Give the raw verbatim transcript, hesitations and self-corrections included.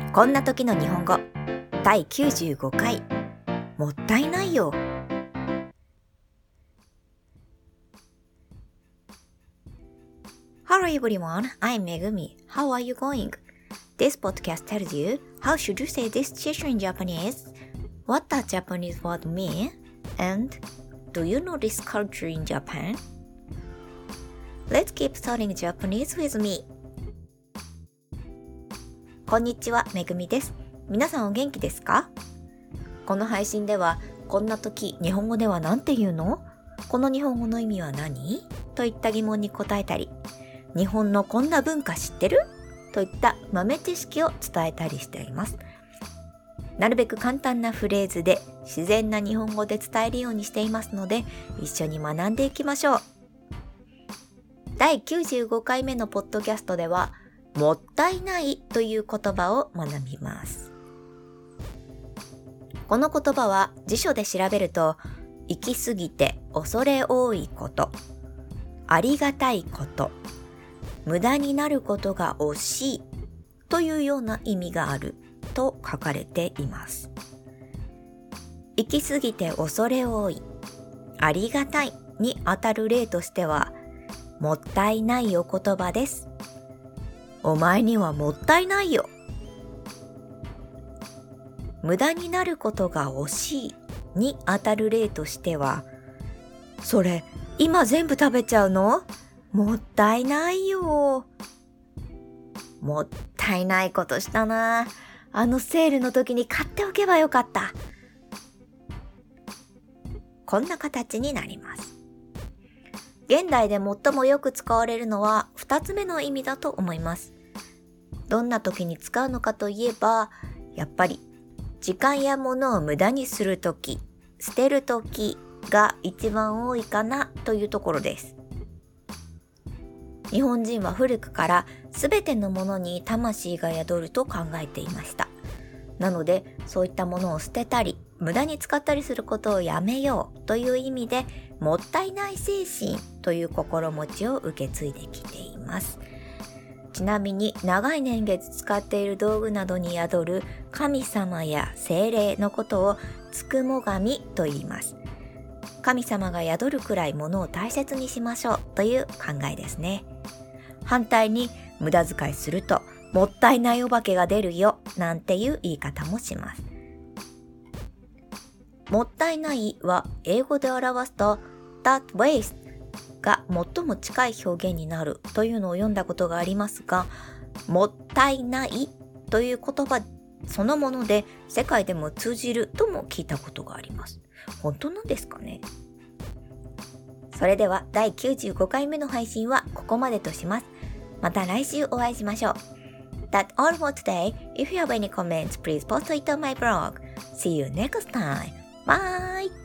こんな時の日本語だいきゅうじゅうごかい、もったいないよ。Hello everyone, I'm Megumi. How are you going? This podcast tells you how should you say this situation in Japanese, what does Japanese word mean, and do you know this culture in Japan? Let's keep studying Japanese with me. こんにちは、めぐみです。皆さんお元気ですか？この配信では、こんな時、日本語ではなんて言うの？この日本語の意味は何？といった疑問に答えたり、日本のこんな文化知ってる？といった豆知識を伝えたりしています。なるべく簡単なフレーズで自然な日本語で伝えるようにしていますので、一緒に学んでいきましょう。だいきゅうじゅうごかいめのポッドキャストでは、もったいないという言葉を学びます。この言葉は辞書で調べると、行き過ぎて恐れ多いこと、ありがたいこと、無駄になることが惜しいというような意味があると書かれています。行き過ぎて恐れ多い、ありがたいにあたる例としては、もったいないお言葉です。お前にはもったいないよ。無駄になることが惜しいにあたる例としては、それ今全部食べちゃうの？もったいないよ。もったいないことしたな。あのセールの時に買っておけばよかった。こんな形になります。現代で最もよく使われるのは二つ目の意味だと思います。どんな時に使うのかといえば、やっぱり時間や物を無駄にするとき、捨てるときが一番多いかなというところです。日本人は古くからすべてのものに魂が宿ると考えていました。なので、そういったものを捨てたり、無駄に使ったりすることをやめようという意味で、もったいない精神という心持ちを受け継いできています。ちなみに長い年月使っている道具などに宿る神様や精霊のことをつくも神と言います。神様が宿るくらいものを大切にしましょうという考えですね。反対に無駄遣いするともったいないお化けが出るよなんていう言い方もします。もったいないは英語で表すと that waste が最も近い表現になるというのを読んだことがありますが、もったいないという言葉そのもので世界でも通じるとも聞いたことがあります。本当なんですかね？それではだいきゅうじゅうごかいめの配信はここまでとします。また来週お会いしましょう。That's all for today. If you have any comments, please post it on my blog. See you next time. Bye!